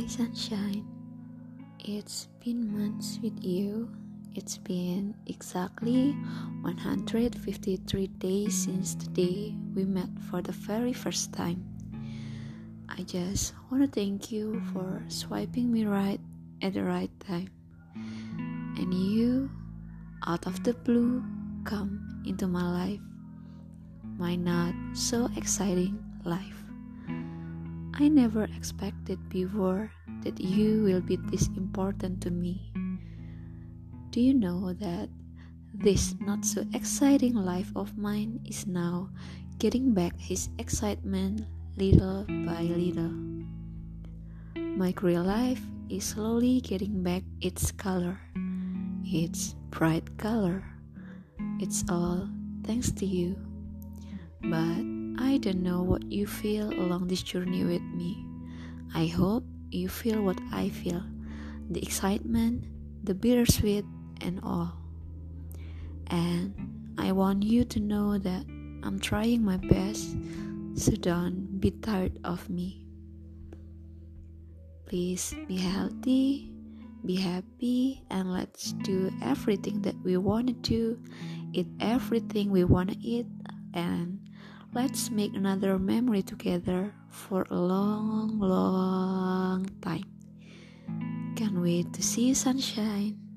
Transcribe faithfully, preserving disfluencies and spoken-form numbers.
Sunshine, it's been months with you. It's been exactly one hundred fifty-three days since the day we met for the very first time. I just want to thank you for swiping me right at the right time. And you, out of the blue, come into my life. My not so exciting life. I never expected before that you will be this important to me. Do you know that this not so exciting life of mine is now getting back his excitement little by little? My real life is slowly getting back its color, its bright color. It's all thanks to you. But I don't know what you feel along this journey with me. I hope you feel what I feel, the excitement, the bittersweet, and all. And I want you to know that I'm trying my best, so don't be tired of me. Please be healthy, be happy, and let's do everything that we want to do, eat everything we want to eat, and let's make another memory together for a long, long time. Can't wait to see you, sunshine.